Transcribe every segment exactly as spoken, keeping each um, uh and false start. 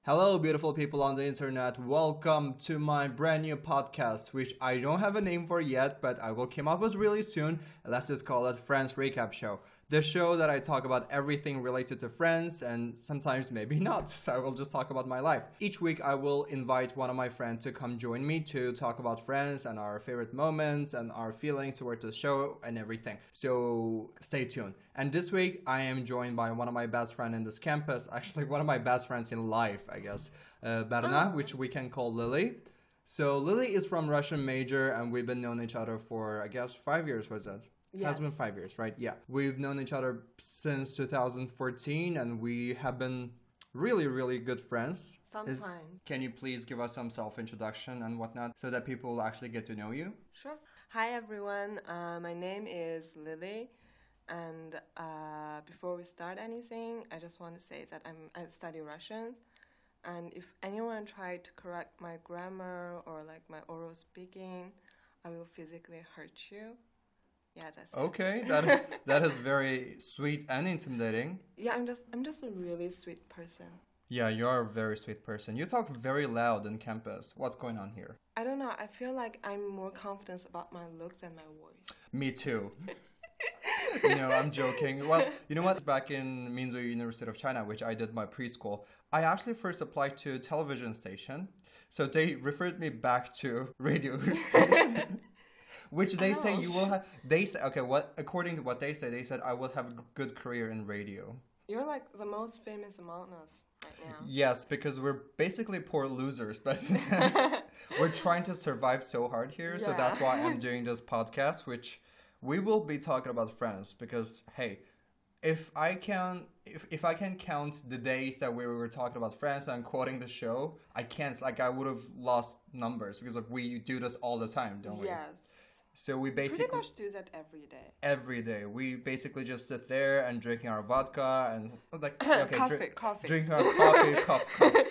Hello, beautiful people on the internet. Welcome to my brand new podcast, which I don't have a name for yet, but I will come up with really soon. Let's just call it Friends Recap Show. The show that I talk about everything related to Friends and sometimes maybe not. So I will just talk about my life. Each week I will invite one of my friends to come join me to talk about Friends and our favorite moments and our feelings towards the show and everything. So stay tuned. And this week I am joined by one of my best friends in this campus. Actually, one of my best friends in life, I guess. Uh, Berna, which we can call Lily. So Lily is from Russian major and we've been known each other for, I guess, five years, was it? Yes. Has been five years, right? Yeah. We've known each other since two thousand fourteen and we have been really, really good friends. Sometimes. Is, can you please give us some self-introduction and whatnot so that people will actually get to know you? Sure. Hi, everyone. Uh, my name is Lily. And uh, before we start anything, I just want to say that I'm, I study Russian. And if anyone tried to correct my grammar or like my oral speaking, I will physically hurt you. Yeah, that's okay. it. that that is very sweet and intimidating. Yeah, I'm just I'm just a really sweet person. Yeah, you're a very sweet person. You talk very loud on campus. What's going on here? I don't know. I feel like I'm more confident about my looks and my voice. Me too. You know, I'm joking. Well, you know what? Back in Minzu University of China, which I did my preschool, I actually first applied to a television station. So they referred me back to radio station. Which they say you will have, they say, okay, what, according to what they say, they said I will have a good career in radio. You're like the most famous among us right now. Yes, because we're basically poor losers, but we're trying to survive so hard here. Yeah. So that's why I'm doing this podcast, which we will be talking about Friends because, hey, if I can, if, if I can count the days that we were talking about Friends and quoting the show, I can't, like I would have lost numbers because like, we do this all the time, don't we? Yes. So we basically pretty much do that every day. Every day, we basically just sit there and drinking our vodka and like okay, coffee, drink, coffee, drinking our coffee, coffee,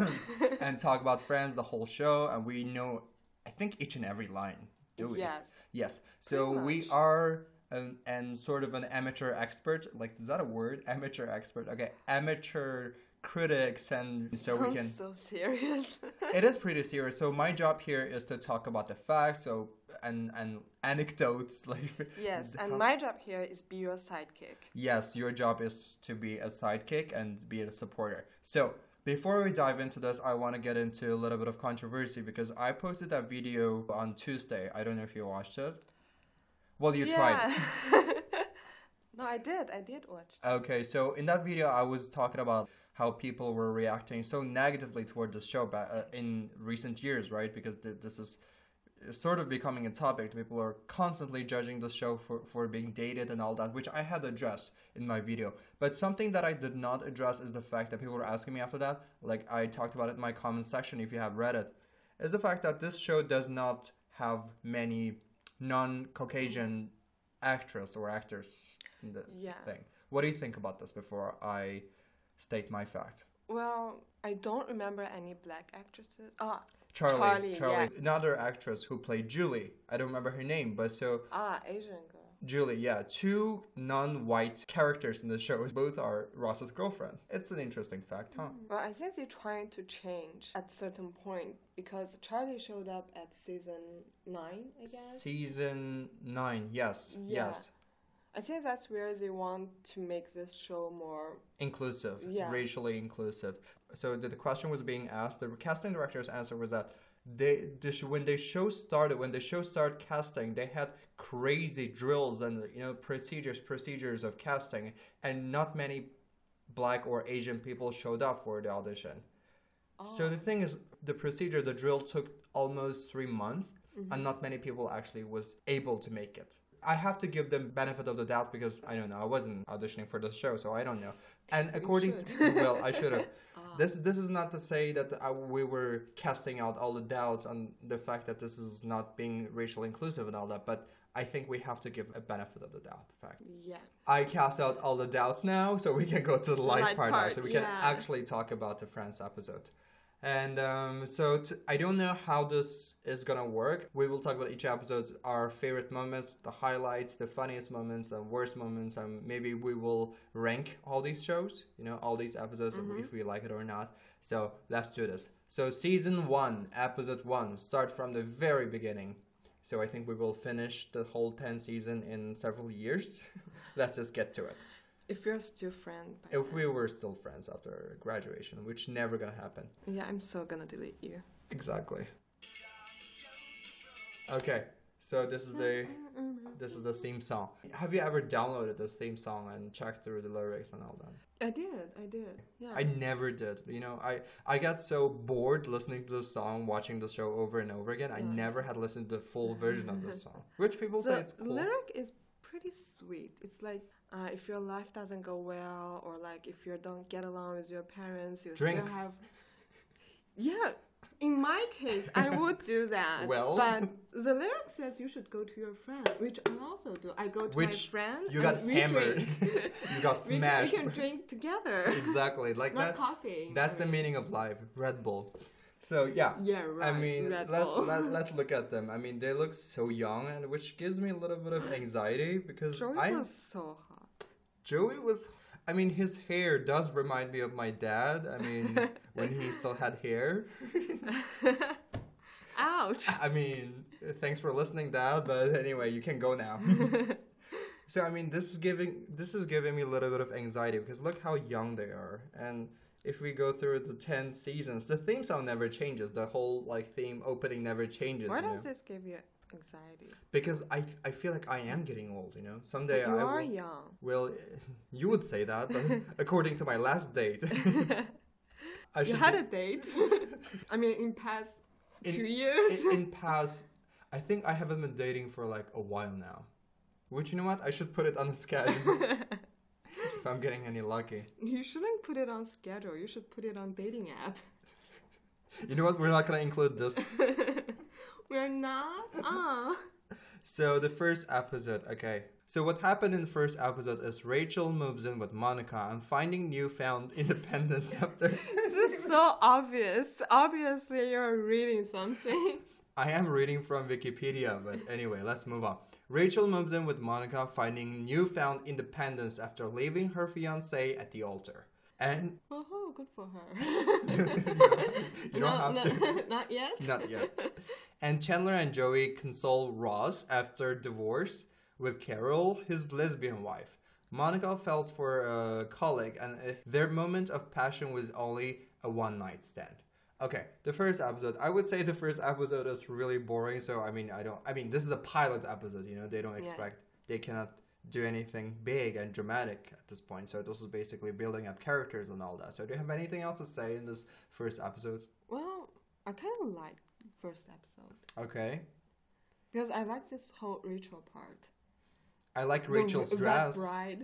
and talk about Friends the whole show. And we know, I think each and every line. Do we? Yes. Yes. So we are an, and sort of an amateur expert. Like, is that a word? Amateur expert. Okay, amateur critics, and so Sounds we can. So serious. It is pretty serious. So my job here is to talk about the facts. So. And, and anecdotes like yes and my job here is be your sidekick. Yes, your job is to be a sidekick and be a supporter. So before we dive into this, I want to get into a little bit of controversy because I posted that video on Tuesday. I don't know if you watched it. Well, you yeah. tried. No, I did. I did watch it. Okay, so in that video, I was talking about how people were reacting so negatively toward this show back, uh, in recent years, right? Because th- this is sort of becoming a topic. People are constantly judging the show for, for being dated and all that, which I had addressed in my video. But something that I did not address is the fact that people were asking me after that, like I talked about it in my comment section if you have read it, is the fact that this show does not have many non-Caucasian actors or actors in the yeah. thing. What do you think about this before I state my fact? Well, I don't remember any black actresses. Ah, Charlie, Charlie, Charlie. yeah. Another actress who played Julie. I don't remember her name, but so... Ah, Asian girl. Julie, yeah. Two non-white characters in the show. Both are Ross's girlfriends. It's an interesting fact, huh? Well, I think they're trying to change at certain point because Charlie showed up at season nine, I guess. Season nine, yes, yeah. yes. I think that's where they want to make this show more... inclusive, yeah. racially inclusive. So the, the question was being asked, the casting director's answer was that they, the sh- when the show started, when the show started casting, they had crazy drills and, you know, procedures, procedures of casting, and not many black or Asian people showed up for the audition. Oh. So the thing is, the procedure, the drill took almost three months, mm-hmm. and not many people actually was able to make it. I have to give them benefit of the doubt because I don't know. I wasn't auditioning for the show, so I don't know. And according to, well, I should have. ah. This this is not to say that I, we were casting out all the doubts on the fact that this is not being racially inclusive and all that, but I think we have to give a benefit of the doubt. Fact. Yeah. I cast out all the doubts now, so we can go to the light, light part, part now, so we yeah. can actually talk about the Friends episode. And um, so to, I don't know how this is gonna work. We will talk about each episode, our favorite moments, the highlights, the funniest moments, and worst moments, and maybe we will rank all these shows, you know, all these episodes, mm-hmm. if we like it or not. So let's do this. So season one, episode one, start from the very beginning. So I think we will finish the whole ten season in several years. Let's just get to it. If we're still friends. If then. we were still friends after graduation, which never gonna happen. Yeah, I'm so gonna delete you. Exactly. Okay, so this is the this is the theme song. Have you ever downloaded the theme song and checked through the lyrics and all that? I did, I did. Yeah. I never did. You know, I I got so bored listening to the song, watching the show over and over again. I yeah. never had listened to the full version of the song, which people the say it's cool. The lyric is pretty sweet. It's like uh, if your life doesn't go well, or like if you don't get along with your parents, you Drink. still have. Yeah, in my case, I would do that. Well, but the lyric says you should go to your friend, which I also do. I go to which my friend. You got and we hammered. Drink. You got smashed. We, we can drink together. Exactly, like Not that. coffee. That's I the mean. meaning of life. Red Bull. So yeah, yeah, right. I mean, Red let's Bull. let, let's look at them. I mean, they look so young, and which gives me a little bit of anxiety because Joey I was so hot. Joey was. I mean, his hair does remind me of my dad. I mean, when he still had hair. Ouch. I mean, thanks for listening, Dad. But anyway, you can go now. So I mean, this is giving this is giving me a little bit of anxiety because look how young they are, and if we go through the ten seasons, the theme song never changes. The whole like theme opening never changes. Why you does know? this give you anxiety? Because I I feel like I am getting old. You know, someday but you I are will, young. Well, you would say that, but according to my last date, I you had be... a date. I mean, in past in, two years. In, in past, I think I haven't been dating for like a while now. Which you know what? I should put it on the schedule. If I'm getting any lucky. You shouldn't put it on schedule. You should put it on dating app. You know what? We're not going to include this. We're not? Ah. So the first episode, okay. So what happened in the first episode is Rachel moves in with Monica and finding newfound independence after... This is so obvious. Obviously you're reading something. I am reading from Wikipedia, but anyway, let's move on. Rachel moves in with Monica, finding newfound independence after leaving her fiancé at the altar. And oh, good for her. you don't no, have no, to. Not yet. Not yet. And Chandler and Joey console Ross after divorce with Carol, his lesbian wife. Monica falls for a colleague, and their moment of passion was only a one-night stand. Okay, the first episode. I would say the first episode is really boring. So I mean, I don't. I mean, this is a pilot episode. You know, they don't expect. Yeah. They cannot do anything big and dramatic at this point. So this is basically building up characters and all that. So do you have anything else to say in this first episode? Well, I kind of like first episode. Okay. Because I like this whole Rachel part. I like Rachel's the dress. Wet bride.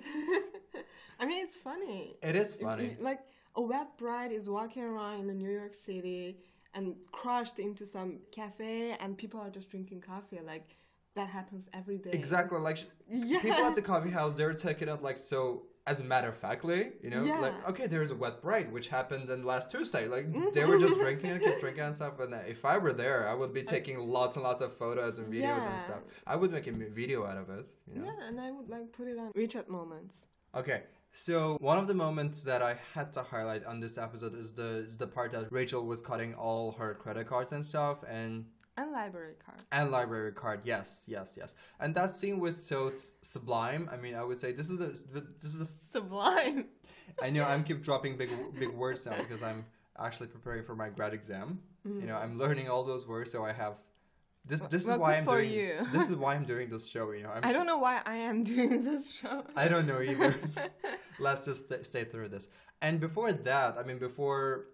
I mean, it's funny. It is funny. If, if, like. A wet bride is walking around in New York City and crashed into some cafe and people are just drinking coffee. Like, that happens every day. Exactly. Like, yeah. People at the coffee house, they're taking it, like, so, as a matter of factly, you know? Yeah. Like, okay, there's a wet bride, which happened in last Tuesday. Like, they were just drinking and kept drinking and stuff. And if I were there, I would be taking lots and lots of photos and videos yeah. and stuff. I would make a video out of it, you know? Yeah, and I would, like, put it on WeChat moments. Okay. So one of the moments that I had to highlight on this episode is the is the part that Rachel was cutting all her credit cards and stuff and and library card and library card yes yes yes and that scene was so s- sublime. I mean, I would say this is the this is the sublime. I know I'm keep dropping big big words now because I'm actually preparing for my grad exam. Mm. You know, I'm learning all those words, so I have. This this well, is why I'm for doing you. This is why I'm doing this show, you know. I'm I sh- don't know why I am doing this show. I don't know either. Let's just st- stay through this. And before that, I mean before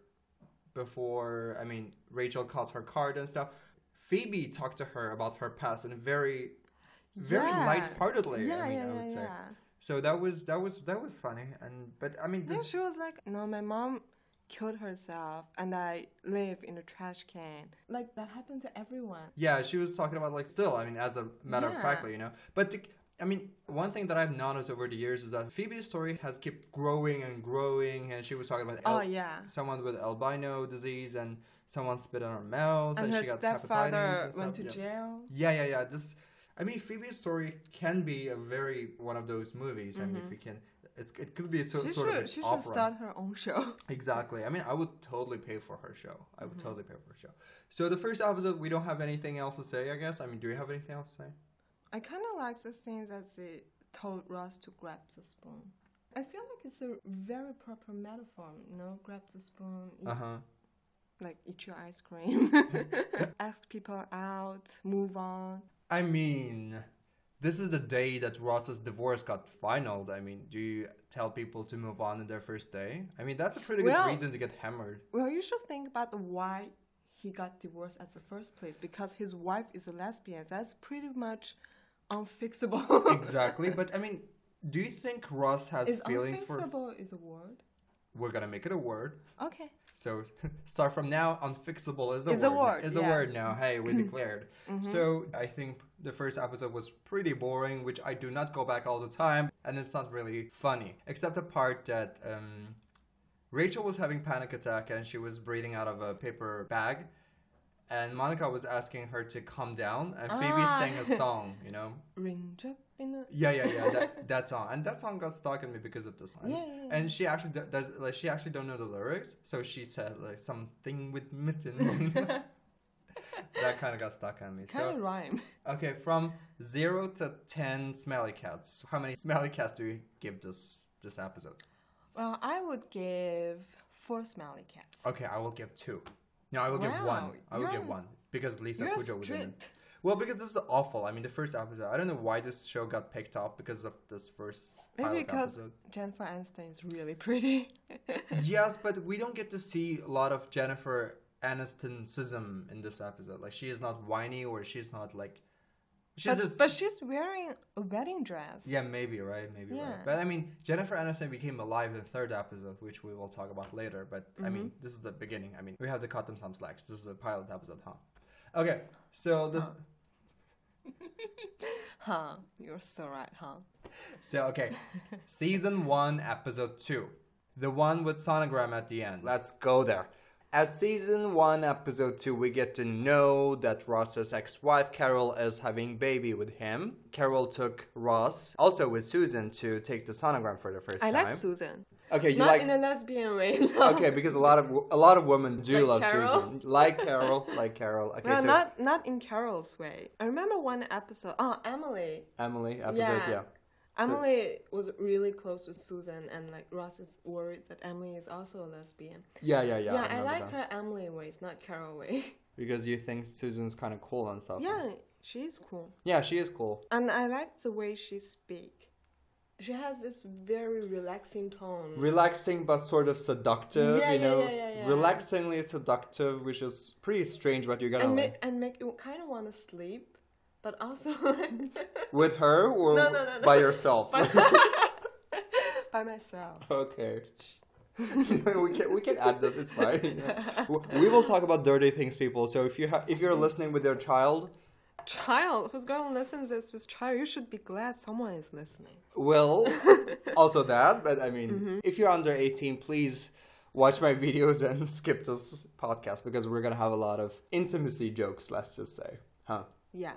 before I mean Rachel calls her card and stuff, Phoebe talked to her about her past in very very yeah. lightheartedly, yeah, I mean yeah, I would yeah, say. Yeah. So that was that was that was funny and but I mean then she was like, no, my mom killed herself and I live in a trash can. Like, that happened to everyone. Yeah, she was talking about, like, still, I mean, as a matter yeah. of factly, you know. But the, I mean, one thing that I've noticed over the years is that Phoebe's story has kept growing and growing, and she was talking about Oh al- yeah. someone with albino disease, and someone spit on her mouth, and, And her she got hepatitis stepfather and went stuff. to yeah. jail. Yeah, yeah, yeah. This, I mean, Phoebe's story can be a very one of those movies. I mean, if we can, it's, it could be a so, She sort should of an she should opera. start her own show. Exactly. I mean, I would totally pay for her show. I would totally pay for her show. So the first episode, we don't have anything else to say, I guess. I mean, do you have anything else to say? I kind of like the scenes that they told Ross to grab the spoon. I feel like it's a very proper metaphor, you know, grab the spoon, eat, Uh huh. like eat your ice cream, ask people out, move on. I mean, this is the day that Ross's divorce got finalized. I mean, do you tell people to move on in their first day? I mean, that's a pretty Well- good reason to get hammered. Well, you should think about the why he got divorced at the first place, because his wife is a lesbian. That's pretty much unfixable. Exactly. But I mean, do you think Ross has Is feelings for... unfixable is a word? We're going to make it a word. Okay. So start from now, unfixable is a Is a word. word, Is yeah. a word now. Hey, we declared. So I think the first episode was pretty boring, which I do not go back all the time, and it's not really funny, except the part that um, Rachel was having panic attack and she was breathing out of a paper bag, and Monica was asking her to calm down, and Phoebe Ah. sang a song, you know. Raindrop in a... Yeah, yeah, yeah. That, that song, and that song got stuck in me because of the lines. Yeah, yeah, yeah. And she actually do- does like she actually don't know the lyrics, so she said like something with mitten. You know? That kind of got stuck on me. Kind of So rhyme. okay, from zero to ten smelly cats. How many smelly cats do you give this this episode? Well, I would give four smelly cats. Okay, I will give two. No, I will give Wow, one. I will you're- give one because Lisa You're Kudrow was in it. strict. Well, because this is awful. I mean, the first episode. I don't know why this show got picked up because of this first Maybe pilot because episode. Jennifer Aniston is really pretty. Yes, but we don't get to see a lot of Jennifer Aniston-sism in this episode. Like, she is not whiny or she's not like... She's But, just... but she's wearing a wedding dress. Yeah, maybe, right? Maybe, Yeah. right. But, I mean, Jennifer Aniston became alive in the third episode, which we will talk about later. But, I mean, Mm-hmm. this is the beginning. I mean, we have to cut them some slacks. This is a pilot episode, huh? Okay, so this... Huh. You're so right, huh? So, okay. Season one, episode two. The one with sonogram at the end. Let's go there. At season one, episode two, we get to know that Ross's ex-wife, Carol, is having baby with him. Carol took Ross, also with Susan, to take the sonogram for the first I time. like Susan. Okay, you Not like... in a lesbian way. No. Okay, because a lot of a lot of women do Like love Carol? Susan. Like Carol, like Carol. Okay, No, so not not in Carol's way. I remember one episode. Oh, Emily. Emily episode, Yeah. yeah. Emily was really close with Susan, and like Ross is worried that Emily is also a lesbian. Yeah, yeah, yeah. Yeah, I, I, remember like that. her Emily ways, not Carol way. Because you think Susan's kind of cool and stuff. Yeah, she's cool, Yeah, she is cool. and I like the way she speak. She has this very relaxing tone. Relaxing but sort of seductive, Yeah, you yeah, know. yeah, yeah, yeah. Relaxingly seductive, which is pretty strange, but you're gonna and like. make and make you kind of want to sleep, but also like With her or No, no, no, no. by yourself? by myself. Okay. we can we can add this. It's fine. We will talk about dirty things, people. So if you ha- if you're listening with your child, Child, who's going to listen to this with child? You should be glad someone is listening. well, also that. But I mean, Mm-hmm. if you're under eighteen, please watch my videos and skip this podcast because we're gonna have a lot of intimacy jokes. Let's just say, huh? Yeah.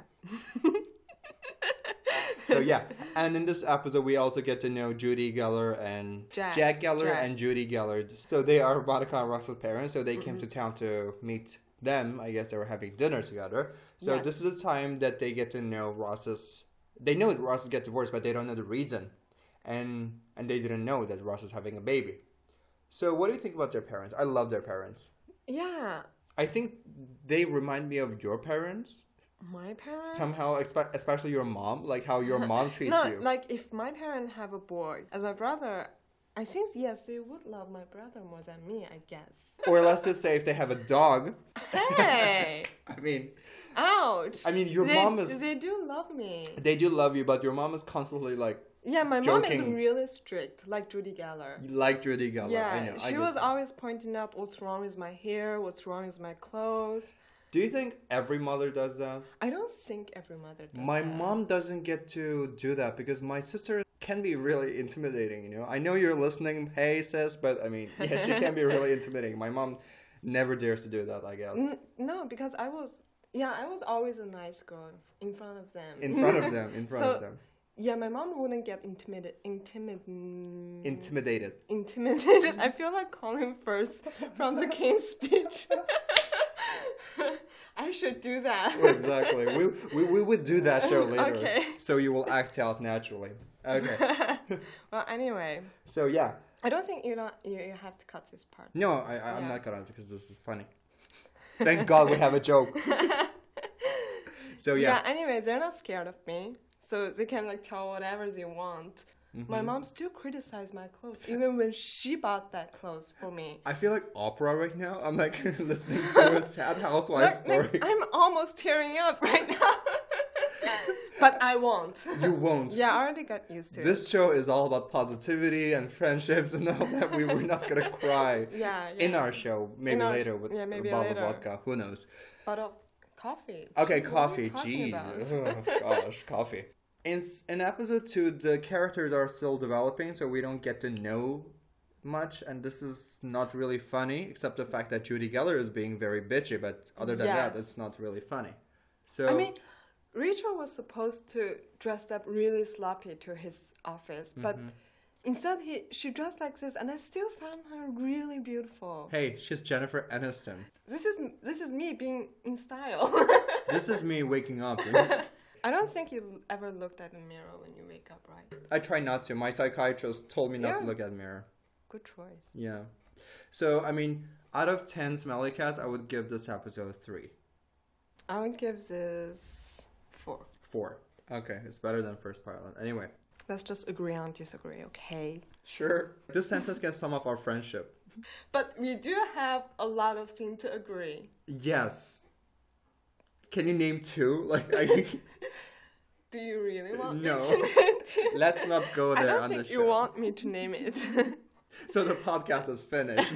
So yeah, and in this episode we also get to know Judy Geller and Jack. Jack Geller Jack. and Judy Geller. So they are Monica and Ross's parents. So they came to town to meet them. I guess they were having dinner together. So Yes. this is the time that they get to know Ross's. They know that Ross get divorced, but they don't know the reason, and and they didn't know that Ross is having a baby. So what do you think about their parents? I love their parents. Yeah. I think they remind me of your parents My parents? somehow, expe- especially your mom. Like how your mom treats no, you. like if my parents have a boy, as my brother, I think, yes, they would love my brother more than me, I guess. Or let's just say if they have a dog. Hey! I mean, Ouch! I mean, your they, mom is- They do love me. they do love you, but your mom is constantly like, Yeah, my mom Joking. is really strict, like Judy Geller. like Judy Geller. Yeah, I know. I she get was that. always pointing out what's wrong with my hair, what's wrong with my clothes. Do you think every mother does that? I don't think every mother does My that. mom doesn't get to do that because my sister can be really intimidating, you know? I know you're listening, hey sis, but I mean, yeah, she can be really intimidating. My mom never dares to do that, I guess. N- no, because I was, yeah, I was always a nice girl in front of them. In front of them, in front So- of them. Yeah, my mom wouldn't get intimidated. Intimid- Intimidated. intimidated. I feel like calling first from the King's speech. I should do that. Exactly. We, we we would do that show later. Okay. So you will act out naturally. Okay. Well, anyway, So yeah. I don't think you don't you, you have to cut this part. No, I, I, I'm Yeah. not gonna because this is funny. Thank God we have a joke. So yeah. Anyway, they're not scared of me, so they can like tell whatever they want. Mm-hmm. My mom still criticized my clothes, even when she bought that clothes for me. I feel like opera right now. I'm like listening to a sad housewife Like, story. like, I'm almost tearing up right now. But I won't. You won't. Yeah, I already got used to it. This show is all about positivity and friendships and all that. We were not gonna cry Yeah, yeah. in our show. Maybe our- later with yeah, maybe a bottle later. of vodka. Who knows? But of coffee. Okay, What are you coffee. talking Jeez. about? Oh, gosh, coffee. In, s- in episode two, the characters are still developing, so we don't get to know much, and this is not really funny, except the fact that Judy Geller is being very bitchy, but other than that, Yes. it's not really funny. So, I mean, Rachel was supposed to dress up really sloppy to his office, but Mm-hmm. instead he she dressed like this, and I still found her really beautiful. hey, she's Jennifer Aniston. This is this is me being in style. This is me waking up. You know? I don't think you ever looked at a mirror when you wake up, right? I try not to. My psychiatrist told me not Yeah. to look at a mirror. Good choice. Yeah. So, I mean, out of ten smelly cats, I would give this episode three. I would give this four. Four. Okay, it's better than first pilot. Anyway. Let's just agree on disagree, okay? Sure. This sentence can sum up our friendship. But we do have a lot of things to agree. Yes. Can you name two? Like, I, Do you really want No. me to name it? let's not go I there don't on think the you show. want me to name it. So the podcast is finished.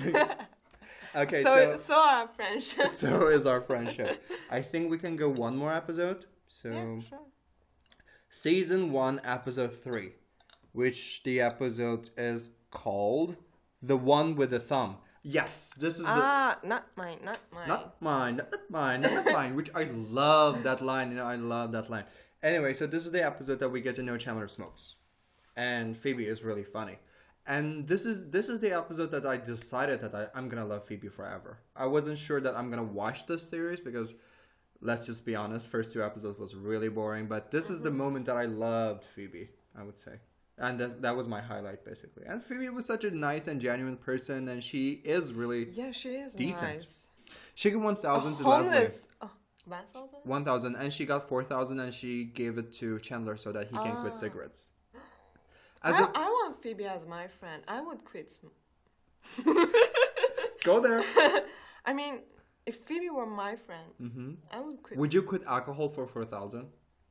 Okay, so, so so our friendship. so is our friendship. I think we can go one more episode. So Yeah, sure. season one, episode three, which the episode is called "The One with the Thumb." Yes, this is the Ah, not mine, not mine. not mine, not mine, not mine. Which I love that line. You know, I love that line. Anyway, so this is the episode that we get to know Chandler smokes, and Phoebe is really funny. And this is this is the episode that I decided that I, I'm gonna love Phoebe forever. I wasn't sure that I'm gonna watch this series because, let's just be honest, first two episodes was really boring. But this is the moment that I loved Phoebe, I would say. And that, that was my highlight, basically. And Phoebe was such a nice and genuine person, and she is really... Yeah, she is Decent. nice. She got one A thousand to Leslie. homeless. Oh, one thousand? one thousand, and she got four thousand, and she gave it to Chandler so that he can quit Ah. cigarettes. I, As a, I want Phoebe as my friend. I would quit. Sm- go there. I mean, if Phoebe were my friend, hmm I would quit. Would you quit alcohol for four thousand?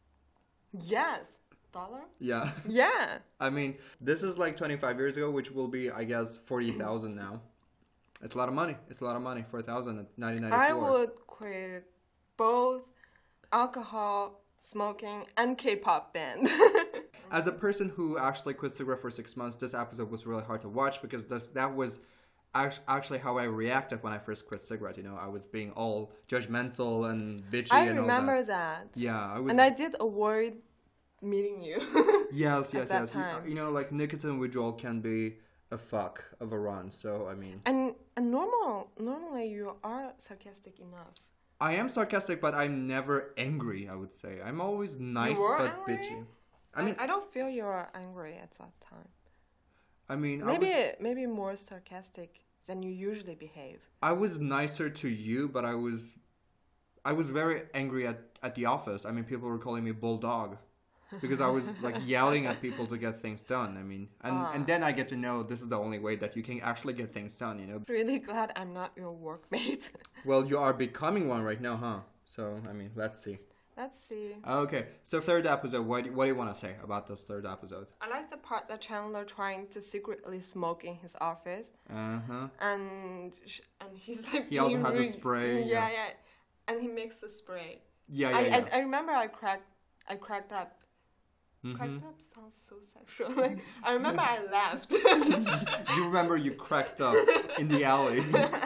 Yes. Dollar? Yeah. Yeah. I mean, this is like twenty-five years ago, which will be, I guess, forty thousand now. It's a lot of money. It's a lot of money. four thousand at nineteen ninety-four. I would quit both alcohol, smoking, and K-pop band. As a person who actually quit cigarette for six months, this episode was really hard to watch because this, that was act- actually how I reacted when I first quit cigarette. You know, I was being all judgmental and bitchy I and all remember that. that. Yeah, I was. And I did avoid meeting you. yes, yes, that yes. You- time. You know, like nicotine withdrawal can be a fuck of a run. So I mean, and and normal normally you are sarcastic enough. I am sarcastic, but I'm never angry. I would say I'm always nice were but angry? bitchy. I mean, I, I don't feel you are angry at that time. I mean, Maybe I was, maybe more sarcastic than you usually behave. I was nicer to you, but I was, I was very angry at, at the office. I mean, people were calling me bulldog, because I was like yelling at people to get things done. I mean, and Ah. and then I get to know this is the only way that you can actually get things done. You know. Really glad I'm not your workmate. Well, you are becoming one right now, huh? So I mean, let's see. Let's see. Okay, so third episode. What do, what do you want to say about the third episode? I like the part that Chandler trying to secretly smoke in his office, Uh huh. and sh- and he's like. He also being has a rude. spray, Yeah, yeah. yeah. and he makes the spray. Yeah, yeah, I, yeah. I, I remember I cracked, I cracked up. Mm-hmm. Cracked up sounds so sexual. Like, I remember I laughed. You remember you cracked up in the alley.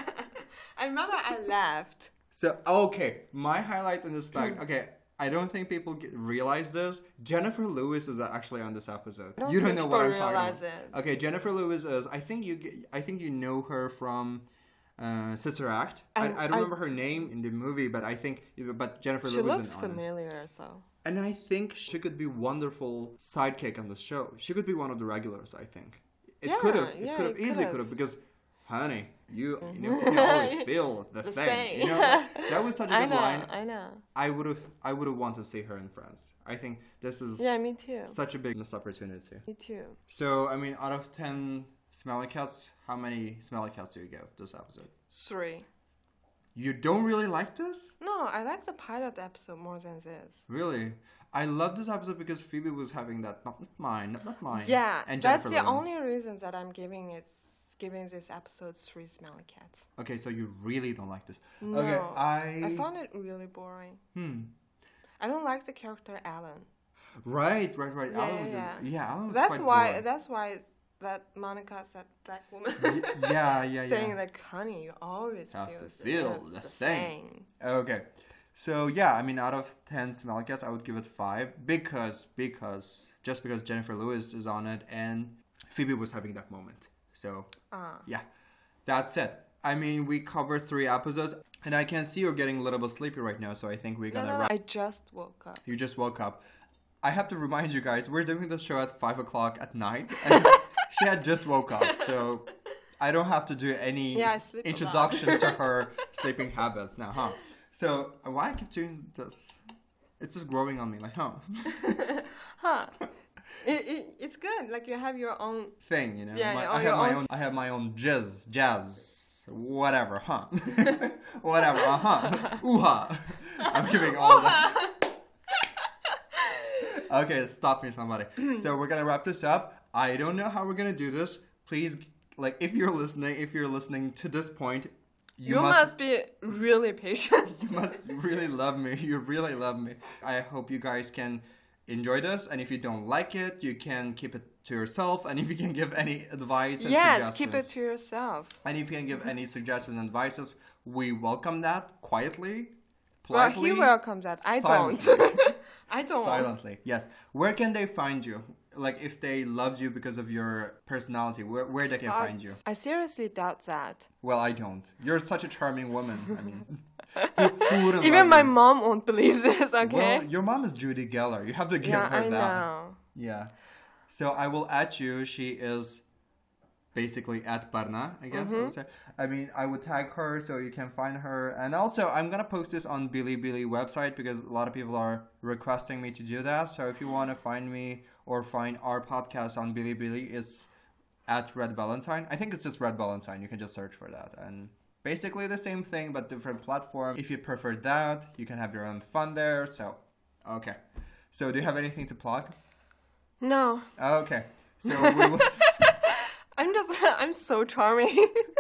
I remember I laughed. So, okay, my highlight in this fact, okay, I don't think people get, realize this. Jennifer Lewis is actually on this episode. I don't you don't think know what I'm people talking realize about. it. Okay, Jennifer Lewis is, I think you get- I think you know her from uh, Sister Act. I, I- I don't I- remember her name in the movie, but I think, but Jennifer She Lewis looks is on it. familiar, so. And I think she could be wonderful sidekick on the show. She could be one of the regulars, I think. It Yeah, could have, it yeah, could have it easily could've. could have, because, honey, you, you, know, you always feel the, The thing. same. You know, that was such a I good know, line. I know. I would have, I would have wanted to see her in France. I think this is Yeah, me too. such a big missed opportunity. Me too. So, I mean, out of ten smelly cats, how many smelly cats do you give this episode? Three. You don't really like this? No, I like the pilot episode more than this. Really? I love this episode because Phoebe was having that, not mine, not, not mine. Yeah, and that's Jennifer the Lawrence. only reason that I'm giving it, giving this episode three smelly cats. Okay, so you really don't like this. No, Okay, I... I found it really boring. Hmm. I don't like the character Alan. Right, right, right. Yeah, Alan yeah, was, yeah. A, yeah, Alan was That's quite why. boring. That's why it's that Monica, that black woman, Y- yeah, yeah, saying yeah. like, "Honey, you always Have feel, to the- feel the, the thing." same." Okay. So yeah, I mean, out of ten smelly cats, I would give it five because because just because Jennifer Lewis is on it and Phoebe was having that moment. So Ah. yeah, that's it. I mean, we covered three episodes, and I can see you're getting a little bit sleepy right now. So I think we're No, gonna no, no, wrap. I just woke up. You just woke up. I have to remind you guys, we're doing this show at five o'clock at night, and she had just woke up, so I don't have to do any Yeah, I sleep a lot. introduction to her sleeping habits now, huh? So why I keep doing this? It's just growing on me, like, huh? Huh? it, it, it's good. Like you have your own. Thing, you know. Yeah, My- yeah, I or have your my own- own. I have my own jizz, jazz, whatever, huh? Whatever, uh huh, ooh ha. I'm giving all that. Okay, stop me, somebody. So we're gonna wrap this up. I don't know how we're gonna do this. Please, like, if you're listening, if you're listening to this point, you, You, must, must be really patient. you must really love me. You really love me. I hope you guys can enjoy this. And if you don't like it, you can keep it to yourself. And if you can give any advice and Yes, suggestions, keep it to yourself. and if you can give any suggestions and advices, we welcome that quietly, Well, politely. he welcomes that. I don't. silently. I don't. Silently, yes. Where can they find you? Like, if they loved you because of your personality, where where they can Uh, find you? I seriously doubt that. Well, I don't. You're such a charming woman. I mean, who, who wouldn't Even love my you? mom won't believe this. Okay. Well, your mom is Judy Geller. You have to give yeah, her I that. know. Yeah. So I will add you. She is basically at Barna, I guess I would say. I mean, I would tag her so you can find her. And also, I'm going to post this on Bilibili website because a lot of people are requesting me to do that. So if you want to find me or find our podcast on Bilibili, it's at Red Valentine. I think it's just Red Valentine. You can just search for that. And basically the same thing, but different platform. If you prefer that, you can have your own fun there. So, okay. So do you have anything to plug? No, Okay. So we will... I'm just. I'm so charming.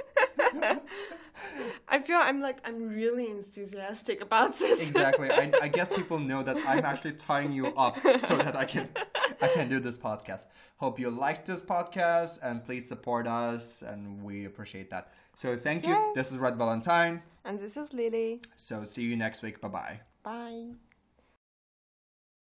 I feel I'm like I'm really enthusiastic about this. Exactly. I, I guess people know that I'm actually tying you up so that I can I can do this podcast. Hope you liked this podcast and please support us and we appreciate that. So thank you. Yes. This is Red Valentine. And this is Lily. So see you next week. Bye bye. Bye.